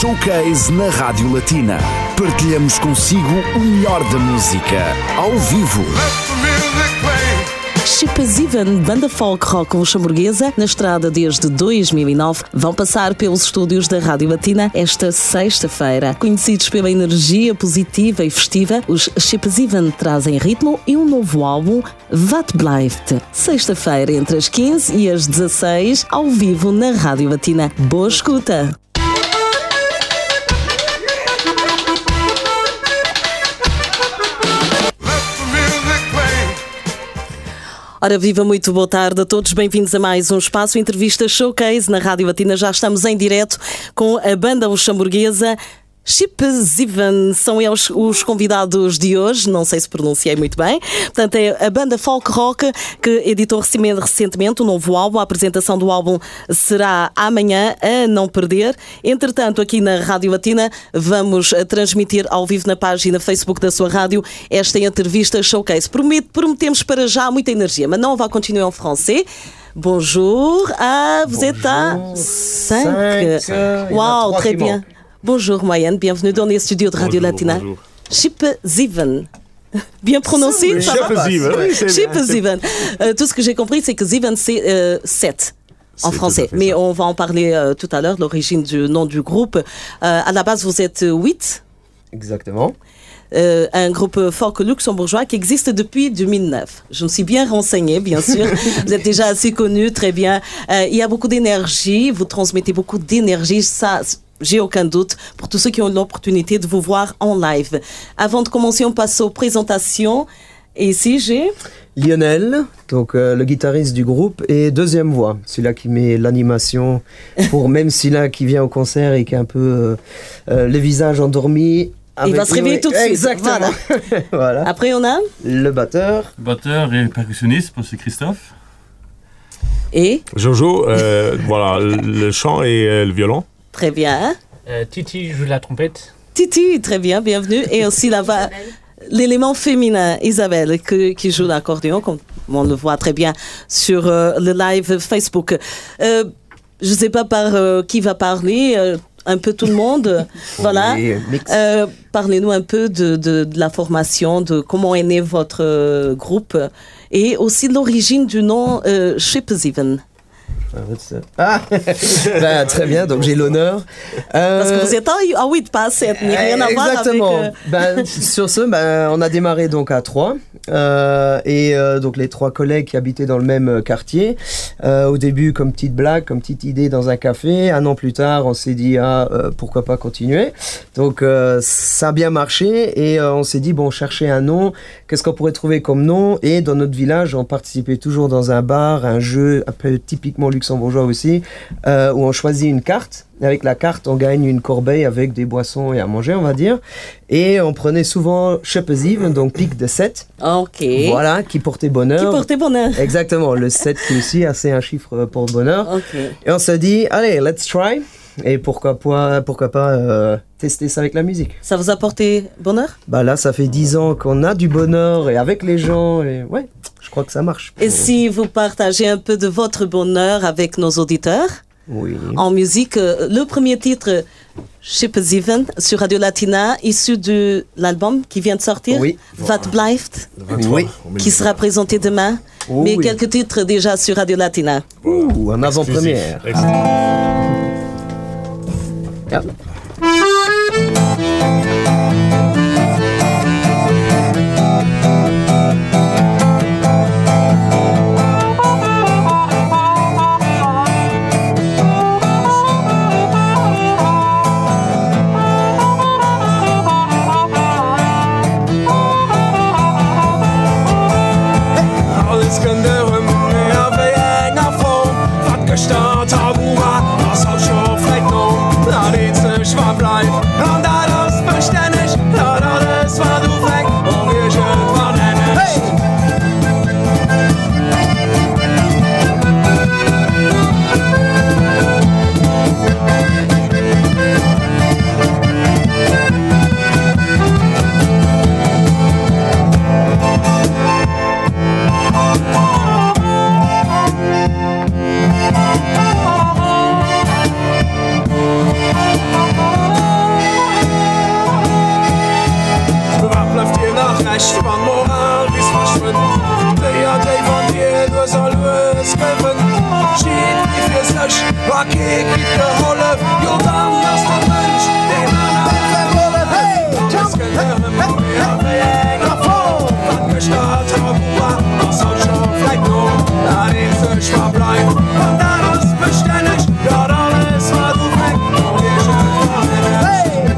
Showcase na Rádio Latina. Partilhamos consigo o melhor da música, ao vivo. Chipazivane, banda folk rock luxemburguesa, na estrada desde 2009, vão passar pelos estúdios da Rádio Latina esta sexta-feira. Conhecidos pela energia positiva e festiva, os Chipazivane trazem ritmo e um novo álbum, Wat Blijft. Sexta-feira, entre as 15 e as 16, ao vivo na Rádio Latina. Boa escuta! Ora viva, muito boa tarde a todos, bem-vindos a mais um espaço Entrevista Showcase na Rádio Latina. Já estamos em direto com a banda luxemburguesa Chipazivane. São eles os convidados de hoje, não sei se pronunciei muito bem. Portanto, é a banda folk rock que editou recentemente um novo álbum. A apresentação do álbum será amanhã, a não perder. Entretanto, aqui na Rádio Latina vamos transmitir ao vivo na página Facebook da sua rádio esta entrevista Showcase. Prometemos para já muita energia, mas não va continuer en français. Bonjour, vous êtes à 5. Wow, très bien. Bonjour Moyenne, bienvenue dans les studios de Radio Latina. Chipazivane. Bien prononcé? Chipazivane. Tout ce que j'ai compris, c'est que Zivane, c'est 7 en français. Mais on va en parler tout à l'heure, l'origine du nom du groupe. À la base, vous êtes 8. Exactement. Un groupe folk luxembourgeois qui existe depuis 2009. Je me suis bien renseignée, bien sûr. Vous êtes déjà assez connu, très bien. Il y a beaucoup d'énergie, vous transmettez beaucoup d'énergie, ça, j'ai aucun doute, pour tous ceux qui ont l'opportunité de vous voir en live. Avant de commencer, on passe aux présentations. Et ici, j'ai Lionel, donc le guitariste du groupe, et deuxième voix, celui-là qui met l'animation, pour même celui-là qui vient au concert et qui a un peu le visage endormi. Il va se réveiller tout de suite. Exactement. Voilà. Après, on a le batteur. Batteur et percussionniste, c'est Christophe. Et Jojo, voilà, le chant et le violon. Très bien. Titi joue la trompette. Titi, très bien, bienvenue. Et aussi là-bas, l'élément féminin, Isabelle, qui joue l'accordéon, comme on le voit très bien sur le live Facebook. Je ne sais pas par qui va parler. Un peu tout le monde, voilà. Parlez-nous un peu de la formation, de comment est né votre groupe et aussi de l'origine du nom Chipazivane. Ah, ben, très bien, donc j'ai l'honneur. Parce que vous êtes à 8, pas à 7, mais rien à voir avec... Exactement. Sur ce, on a démarré donc à 3. Donc les 3 collègues qui habitaient dans le même quartier. Au début, comme petite blague, comme petite idée dans un café. 1 an plus tard, on s'est dit, pourquoi pas continuer. Donc ça a bien marché et on s'est dit, bon, chercher un nom. Qu'est-ce qu'on pourrait trouver comme nom? Et dans notre village, on participait toujours dans un bar, un jeu un peu typiquement luxembourgeois aussi, où on choisit une carte. Avec la carte, on gagne une corbeille avec des boissons et à manger, on va dire. Et on prenait souvent Chipazivane, donc pique de 7. Ok. Voilà, qui portait bonheur. Qui portait bonheur. Exactement, le 7 qui aussi, c'est un chiffre pour bonheur. Ok. Et on se dit, allez, let's try. Et pourquoi pas tester ça avec la musique. Ça vous a porté bonheur? Bah là, ça fait 10 ans qu'on a du bonheur et avec les gens, et ouais, je crois que ça marche. Et si vous partagez un peu de votre bonheur avec nos auditeurs? Oui. En musique, le premier titre, Chipazivane, sur Radio Latina, issu de l'album qui vient de sortir, oui. Wat Blijft, Oui. qui sera présenté demain. Oh, mais oui. quelques titres déjà sur Radio Latina. Ouh, en avant-première. Ja. Alles kunnen meer wegen afval. Wat gestart hebben, was al zo vrij nog. Dat iets schwaar blijft, en dat is versterkt. nicht, wann Moral bis verschwindet. Der von dir, du soll es gewinnen. Schied wie fürs Lösch, Rakete geht geholfen. Jo, dann lass der Mensch, den anderen verwollen. Alles gehören mit mir, wie enger vor. Was gestartet hat, was soll schon vielleicht noch, da den Fisch verbleibt. Und dann ist beständig, dort alles war du weg, und ihr schön verwendet.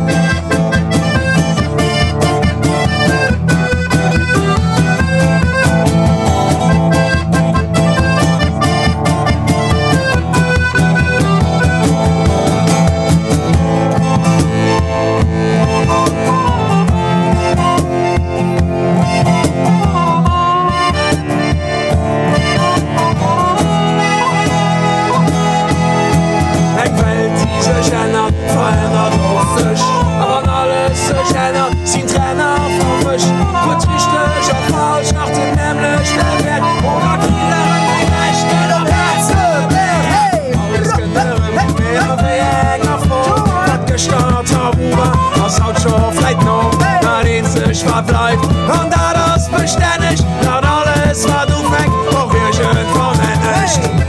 Verändert auf sich, aber alles sich ändert, sie Trainer von Fisch. Wird richtig oder falsch nach dem nämlichen Wert, oder Kieler in Rechten und Herzen. Hey, alles Gehirn mit mir wie enger vor. Was gestartet hat, was haut schon vielleicht noch, da den sich verbleibt. Und da das beständig, da alles war du weg, wo wir schön verwendet.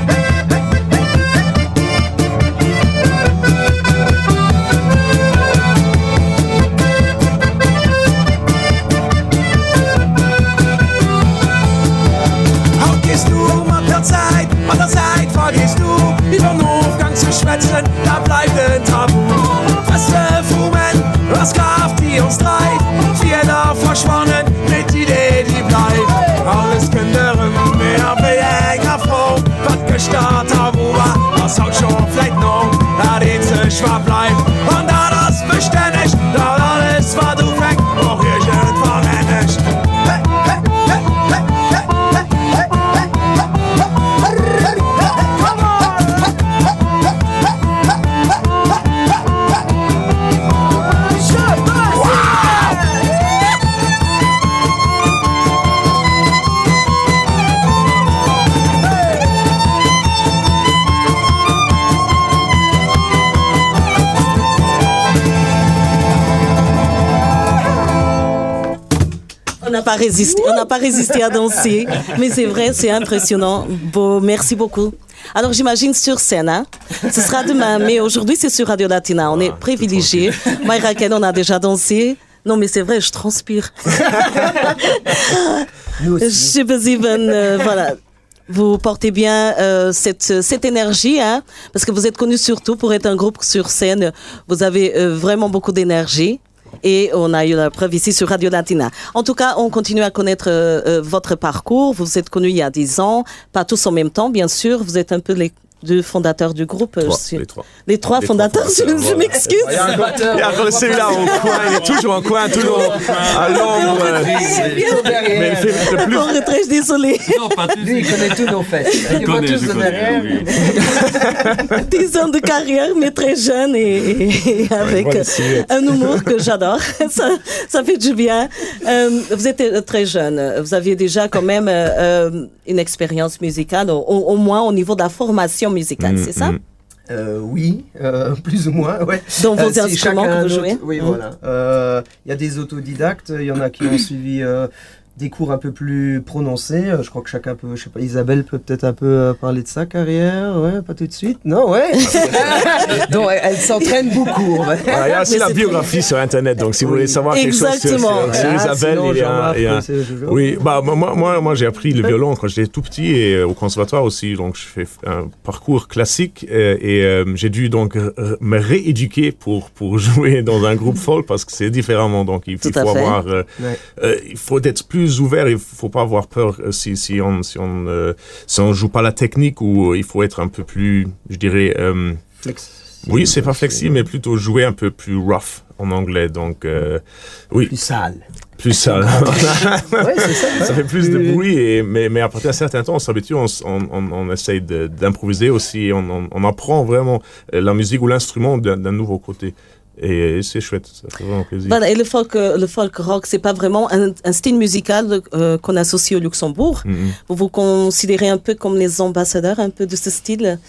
An der Zeit vergehst du, über den Hofgang zu schwätzen, da bleibt ein Tabu. Was wir fumen, was Kraft, die uns treibt, Fehler verschwonnen, mit Idee, die bleibt. Alles Kinderen, mehr wie enger Frau, was gestartet hat, was haut schon vielleicht noch, da den sich verbleibt. Und da das beständig, da alles war du weg, auch hier schön verwendet. On n'a pas résisté à danser, mais c'est vrai, c'est impressionnant. Bon, merci beaucoup. Alors j'imagine sur scène, hein? Ce sera demain, mais aujourd'hui c'est sur Radio Latina. On est privilégiés. Moi et Raquel, on a déjà dansé. Non, mais c'est vrai, je transpire. Nous aussi. Ship Zivan, voilà. Vous portez bien cette énergie, hein, parce que vous êtes connus surtout pour être un groupe sur scène. Vous avez vraiment beaucoup d'énergie. Et on a eu la preuve ici sur Radio Latina. En tout cas, on continue à connaître votre parcours. Vous êtes connus il y a 10 ans, pas tous en même temps, bien sûr. Vous êtes un peu les deux fondateurs du groupe. Les trois fondateurs, je m'excuse. Il y a encore celui-là au coin, il est toujours en coin, toujours à l'ombre. Mais il fait le plus. En retrait, je suis désolée. Non, pas tous. Lui, il connaît tous nos fêtes. Il voit tous de derrière. 10 ans de carrière, mais très jeune et avec un humour que j'adore. Ça fait du bien. Vous êtes très jeune. Vous aviez déjà quand même une expérience musicale, au moins au niveau de la formation musicale, c'est ça? Oui, plus ou moins, ouais. Donc vos instruments que vous jouez? Oui, voilà. Il y a des autodidactes, il y en a qui ont suivi des cours un peu plus prononcés. Je crois que chacun peut, je sais pas, Isabelle peut peut-être un peu parler de sa carrière, ouais, pas tout de suite, non, ouais. Donc elle s'entraîne beaucoup. Voilà, il y a aussi la biographie sur Internet, donc si vous voulez savoir quelque chose sur Isabelle, il y a oui, bah moi j'ai appris le violon quand j'étais tout petit et au conservatoire aussi, donc je fais un parcours classique et j'ai dû donc me rééduquer pour jouer dans un groupe folk parce que c'est différemment, donc il faut avoir, il faut être plus ouvert, il faut pas avoir peur si on joue pas la technique, ou il faut être un peu plus, je dirais, oui, c'est pas flexible, mais plutôt jouer un peu plus rough en anglais, donc oui. Plus sale. Plus sale. Ouais, c'est ça. Ça fait plus de bruit, mais après un certain temps, on s'habitue, on essaye d'improviser aussi, on apprend vraiment la musique ou l'instrument d'un nouveau côté. Et c'est chouette, ça fait vraiment plaisir. Voilà, et le folk rock, c'est pas vraiment un style musical qu'on associe au Luxembourg. Vous vous considérez un peu comme les ambassadeurs un peu de ce style?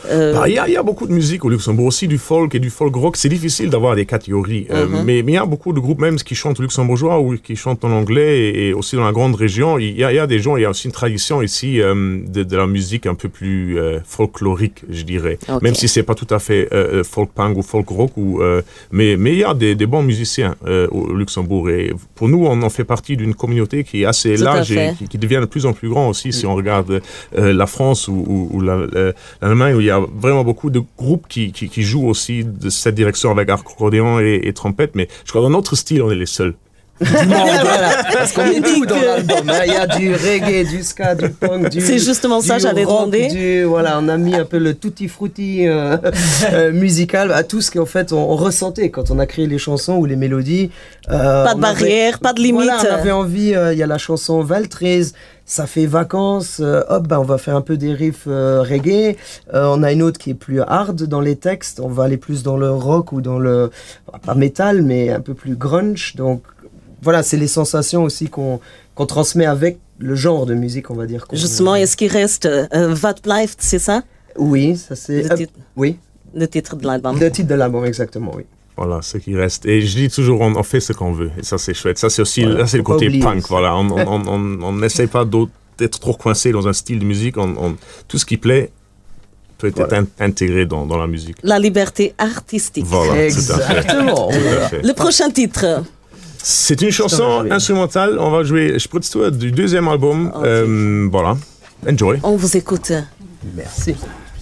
Il y a beaucoup de musique au Luxembourg, aussi du folk et du folk rock. C'est difficile d'avoir des catégories, mais il y a beaucoup de groupes même qui chantent luxembourgeois ou qui chantent en anglais et aussi dans la grande région. Il y a des gens, il y a aussi une tradition ici de la musique un peu plus folklorique, je dirais. Okay. Même si c'est pas tout à fait folk punk ou folk rock, mais il y a des bons musiciens au Luxembourg. Et pour nous, on en fait partie d'une communauté qui est assez large et qui devient de plus en plus grand aussi. Si on regarde la France ou l'Allemagne, où il y a vraiment beaucoup de groupes qui jouent aussi de cette direction avec accordéon et trompette, mais je crois que dans notre style, on est les seuls. Voilà, parce qu'on est tout dans l'album. Il y a du reggae, du ska, du punk, c'est justement ça, j'allais demander. Voilà, on a mis un peu le tutti frutti musical à tout ce qu'en fait on ressentait quand on a créé les chansons ou les mélodies. Pas de barrière, pas de limite. Voilà, on avait envie. Il y a la chanson Val 13. Ça fait vacances, on va faire un peu des riffs reggae. On a une autre qui est plus hard dans les textes. On va aller plus dans le rock ou dans le, pas métal, mais un peu plus grunge. Donc voilà, c'est les sensations aussi qu'on transmet avec le genre de musique, on va dire. Justement, est-ce qu'il reste Wat blijft, c'est ça? Oui, ça c'est... oui. Le titre de l'album. Le titre de l'album, exactement, oui. Voilà, ce qui reste. Et je dis toujours, on fait ce qu'on veut. Et ça, c'est chouette. Ça, c'est aussi là, c'est le côté punk. Voilà. On n'essaie pas d'être trop coincé dans un style de musique. Tout ce qui plaît peut être intégré dans la musique. La liberté artistique. Voilà, exactement. Tout à fait. Le prochain titre. C'est une chanson instrumentale. On va jouer Spritztour du deuxième album. Okay. Voilà. Enjoy. On vous écoute. Merci.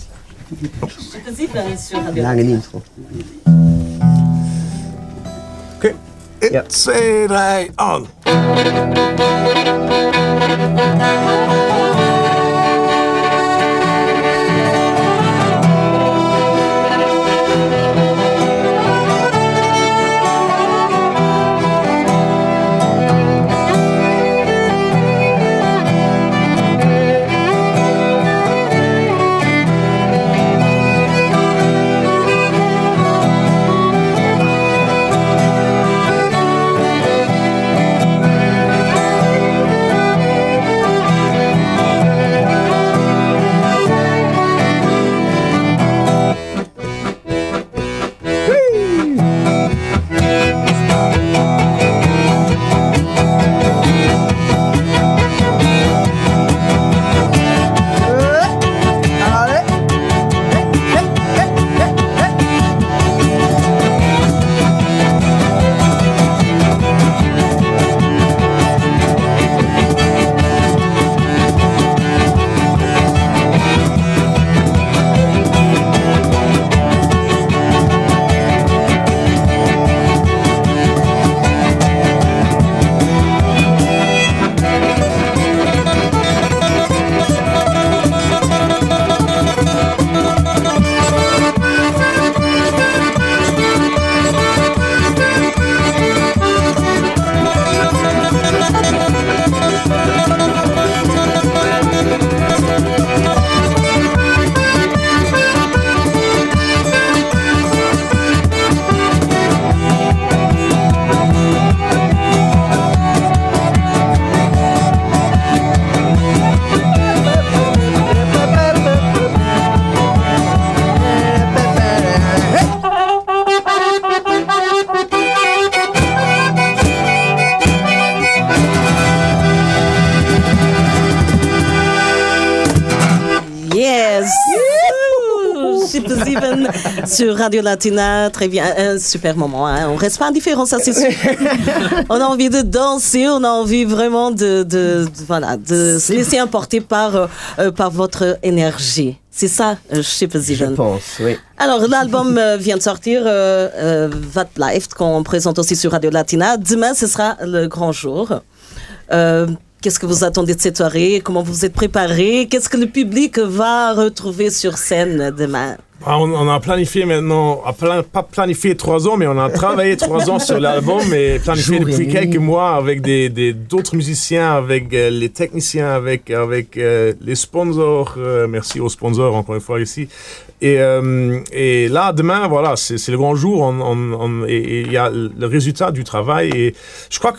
Lange intro. Okay. 1, 2, 3, on. Sur Radio Latina, très bien, un super moment, hein. On reste pas indifférent, ça c'est sûr. On a envie de danser, on a envie vraiment de se laisser emporter par votre énergie. C'est ça, je pense, oui. Alors, l'album vient de sortir, Wat blijft, qu'on présente aussi sur Radio Latina. Demain, ce sera le grand jour. Qu'est-ce que vous attendez de cette soirée? Comment vous êtes préparés? Qu'est-ce que le public va retrouver sur scène demain? On a planifié maintenant, pas planifié 3 ans, mais on a travaillé 3 ans sur l'album et planifié depuis quelques mois avec d'autres musiciens, avec les techniciens, avec les sponsors. Merci aux sponsors encore une fois ici. Et là, demain, voilà, c'est le grand jour. Et il y a le résultat du travail. Et je crois que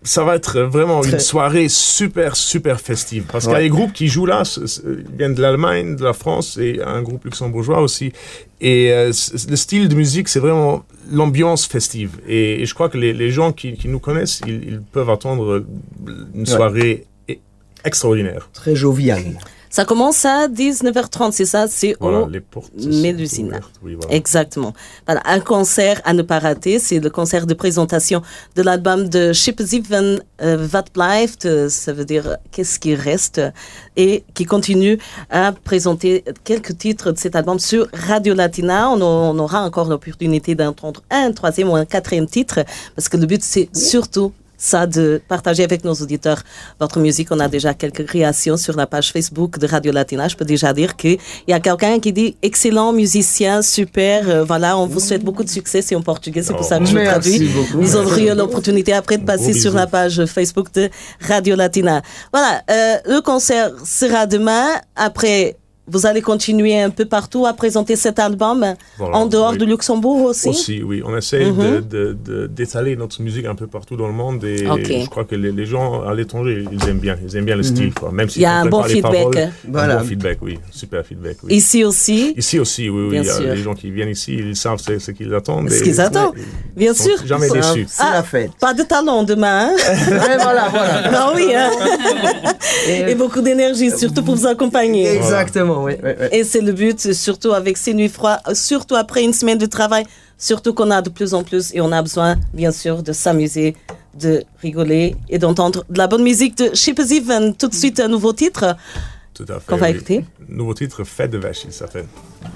ça va être vraiment une soirée super, super festive. Parce qu'il y a des groupes qui jouent là, ils viennent de l'Allemagne, de la France, et un groupe luxembourgeois aussi. Et le style de musique, c'est vraiment l'ambiance festive. Et je crois que les gens qui nous connaissent, ils peuvent attendre une soirée extraordinaire. Très joviale. Ça commence à 19h30, c'est ça? C'est au Mélusine. Oui, voilà. Exactement. Voilà, un concert à ne pas rater. C'est le concert de présentation de l'album de Chip Ziven, Wat Blijft, ça veut dire qu'est-ce qui reste, et qui continue à présenter quelques titres de cet album sur Radio Latina. On aura encore l'opportunité d'entendre un troisième ou un quatrième titre, parce que le but, c'est surtout ça, de partager avec nos auditeurs votre musique. On a déjà quelques créations sur la page Facebook de Radio Latina. Je peux déjà dire qu'il y a quelqu'un qui dit excellent musicien, super. Voilà, on vous souhaite beaucoup de succès. C'est en portugais, c'est pour ça que je traduis. Ils auront eu l'opportunité après de passer sur la page Facebook de Radio Latina. Voilà, le concert sera demain. Après, vous allez continuer un peu partout à présenter cet album, en dehors de Luxembourg aussi? Aussi, oui. On essaie d'étaler notre musique un peu partout dans le monde, et je crois que les gens à l'étranger, ils aiment bien le style, quoi. Même si il y a un bon feedback. Un bon feedback, oui. Super feedback, oui. Ici aussi? Ici aussi, oui. Il y a les gens qui viennent ici, ils savent ce qu'ils attendent. Ce qu'ils attendent, bien sûr. Jamais déçus. C'est la fête. Pas de talent demain, hein? Voilà. Ah oui, hein? Et beaucoup d'énergie, surtout pour vous accompagner. Exactement. Oui. Et c'est le but, surtout avec ces nuits froides, surtout après une semaine de travail, surtout qu'on a de plus en plus, et on a besoin, bien sûr, de s'amuser, de rigoler et d'entendre de la bonne musique de Chip Ziven. Tout de suite, un nouveau titre. Tout à fait. Qu'on va écouter. Nouveau titre, Fête de Vache, il s'appelle.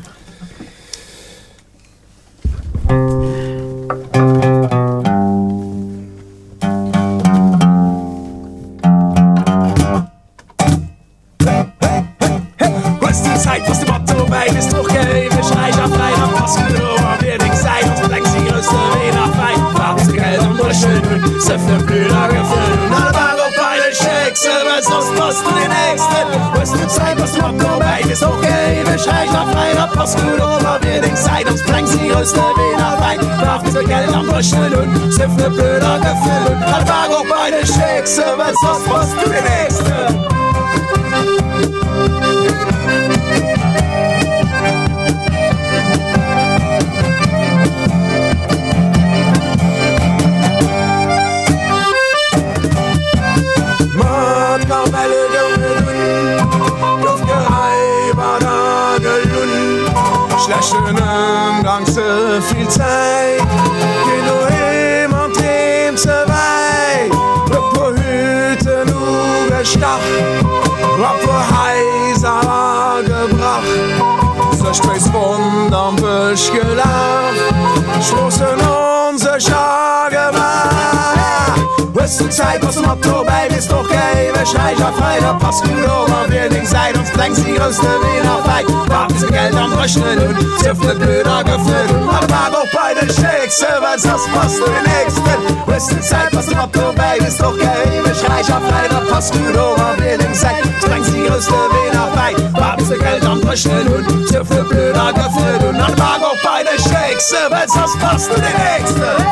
Zeit, was de Motto bij is toch geven. Schrijf aan vrij, dan pas je erover weer ik zei. Ons brengt zich rustig weer naar fijn. Waarom ze geld om door de schön doen? Ze veel blöder gefüllt. Alle Wagen op beide Schicksal, weil sonst passt du den Nächsten. Was de Zeit, was de Motto bij is toch geven. Schrijf aan vrij, dan pas je erover weer ik zei. Ons brengt zich rustig weer naar fijn. Waarom ze geld om door de schön doen? Ze veel blöder gefüllt. Alle Wagen op beide Schicksal, weil sonst passt du den Nächsten. Schönen Gang so viel Zeit. Geh du heim und heim so weit. På Hüten überstach, på heiser war gebracht. So stößt wunder'n Büsch gelacht, schlossen unsere Schar gemacht. Wirst du Zeit, was Motto bei bist doch geil. Schrei ich auf frei, da passt gut over. Wir links seid uns drängt die größte Wiener Feit. Warten sie Geld am Rechnen und zifft blöder gefüllt. Aber war auch bei den Schicks, weil sonst passt du den Nächsten. Wirst du Zeit, was Motto bei bist doch geil. Schrei ich auf frei, da passt gut over. Wir links seid uns drängt die größte Wiener Feit. Warten sie Geld am Rechnen und zifft blöder gefüllt. Und dann war auch bei den Schicks, weil sonst passt du den Nächsten.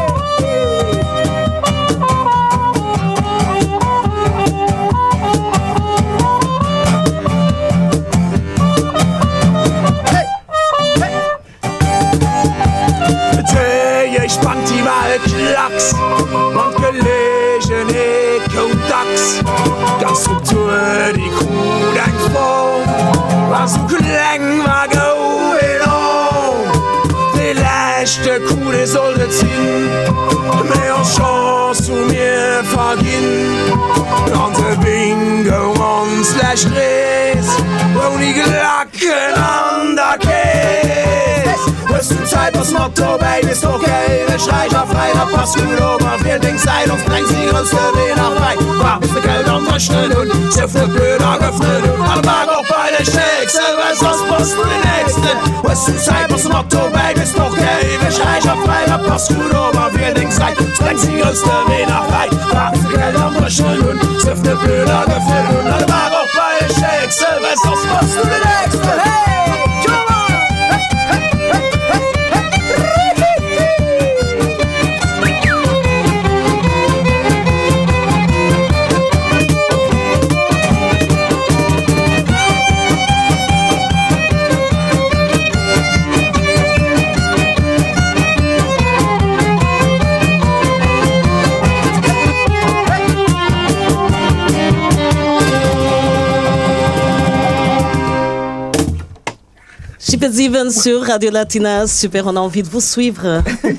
Spannt die Waldlachs und gelegene Kodaks. Ganz Struktur, die Kuh denkt vor, was so klang war going on. Die letzte Kuh, die sollte ziehen, mehr Chance zu mir vergehen. Und der Bingo und slash Drehs, wo die Glacken an der Käse. Wirst du Zeit, was Motto bei ist doch geil. Schrei ich auf frei, da passt gut ober. Wir Dings sein, uns bringt sie größte Wiener frei. War bis der Geld am Rechnen und sehr viel blöder gefüllt. Alle Wagen auch bei den Schicks, weil sonst passt du den Nächsten. Wirst du Zeit, was Motto bei ist doch geil. Schrei ich auf frei, da passt gut ober. Wir Dings sein, uns bringt sie größte Wiener frei. War bis der Geld am Rechnen und sehr viel blöder gefüllt. Alle Wagen auch bei den Schicks, weil sonst passt du den Nächsten. Hey! Even sur Radio Latina. Super, on a envie de vous suivre.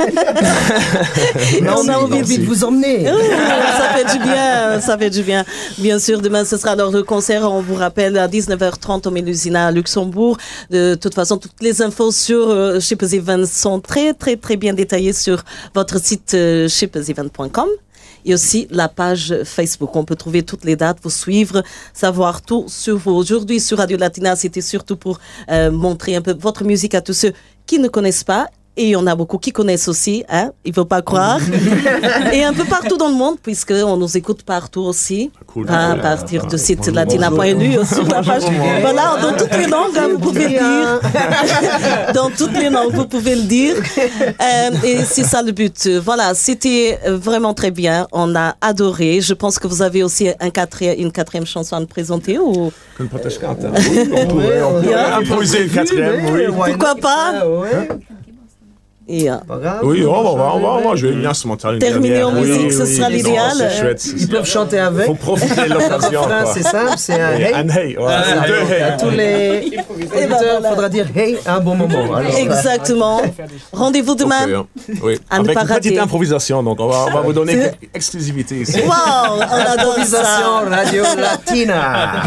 On a envie de vous emmener. Ça fait du bien, ça fait du bien. Bien sûr, demain, ce sera lors du concert. On vous rappelle à 19h30 au Mélusina à Luxembourg. De toute façon, toutes les infos sur Shipper's Event sont très, très, très bien détaillées sur votre site shippersevent.com. Et aussi la page Facebook. On peut trouver toutes les dates, vous suivre, savoir tout sur vous. Aujourd'hui, sur Radio Latina, c'était surtout pour montrer un peu votre musique à tous ceux qui ne connaissent pas. Et il y en a beaucoup qui connaissent aussi, hein, il ne faut pas croire. Et un peu partout dans le monde, puisqu'on nous écoute partout aussi. Cool. À partir du site latina.lu, sur la page. Voilà, dans toutes les langues, hein, vous pouvez le dire. Dans toutes les langues, vous pouvez le dire. Et c'est ça le but. Voilà, c'était vraiment très bien. On a adoré. Je pense que vous avez aussi une quatrième chanson à nous présenter. Ou... On pourrait imposer une quatrième, oui. Pourquoi pas? Oui, on va jouer une instrumentale. Terminer en musique, ce sera l'idéal. Ils peuvent chanter avec. Il faut profiter de l'occasion. C'est simple, c'est un hey. Un hey. Deux hey. À tous les auditeurs, il faudra dire hey à un bon moment. Alors, exactement. Rendez-vous demain. Oui. Avec une petite improvisation, donc on va vous donner quelques exclusivités ici. Wow, on adore ça. Radio Latina.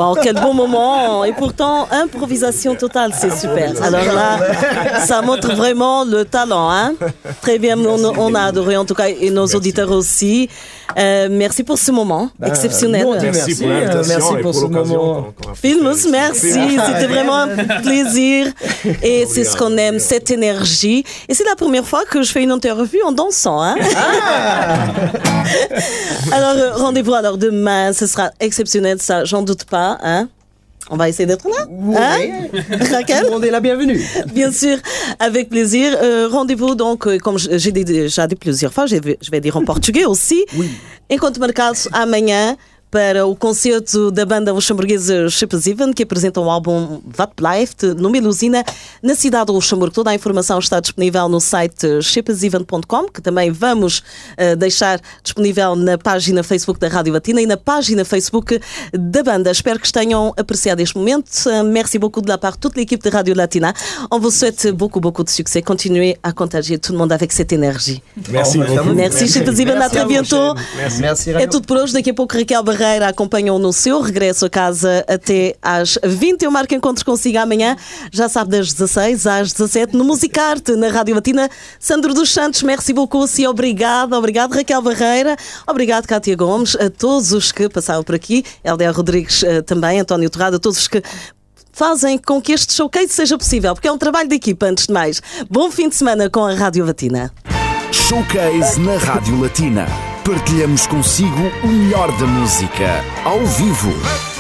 Oh, quel bon moment. Et pourtant, improvisation totale, c'est super. Alors là, ça montre vraiment le talent. Hein? Très bien, on a adoré en tout cas, et nos auditeurs aussi. Merci pour ce moment exceptionnel. Merci pour l'invitation. Merci pour ce moment. Filmus, merci. C'était vraiment un plaisir. Et c'est ce qu'on aime, cette énergie. Et c'est la première fois que je fais une interview en dansant. Hein? Alors, rendez-vous alors demain. Ce sera exceptionnel, ça, j'en doute pas. Hein? On va essayer d'être là. Hein? Raquel? On est la bienvenue. Bien sûr, avec plaisir. Rendez-vous donc, comme j'ai déjà dit plusieurs fois, je vais dire en português aussi. Oui. Encontro marcados amanhã para o concerto da banda luxemburguesa Chippesiven, que apresenta um álbum Wat Blijft, numa Melusina, na cidade do Luxemburgo. Toda a informação está disponível no site chippesiven.com, que também vamos deixar disponível na página Facebook da Rádio Latina e na página Facebook da banda. Espero que tenham apreciado este momento. Merci beaucoup de la part de toute l'équipe de Radio Latina. On vous souhaite beaucoup de succès. Continuez à contagier tout le monde avec cette énergie. Merci beaucoup. Merci Chippesiven, à très bientôt. Merci. É tudo por hoje. Daqui a pouco Raquel Barreira acompanham no seu regresso a casa até às 20. Eu marco encontros consigo amanhã, já sabe, das 16 às 17 no Musicarte, na Rádio Latina. Sandro dos Santos, merci beaucoup, e obrigado Raquel Barreira, obrigado Cátia Gomes, a todos os que passaram por aqui, LDA Rodrigues também, António Torrado, a todos os que fazem com que este showcase seja possível, porque é um trabalho de equipa, antes de mais. Bom fim de semana com a Rádio Latina. Showcase na Rádio Latina. Partilhamos consigo o melhor da música, ao vivo.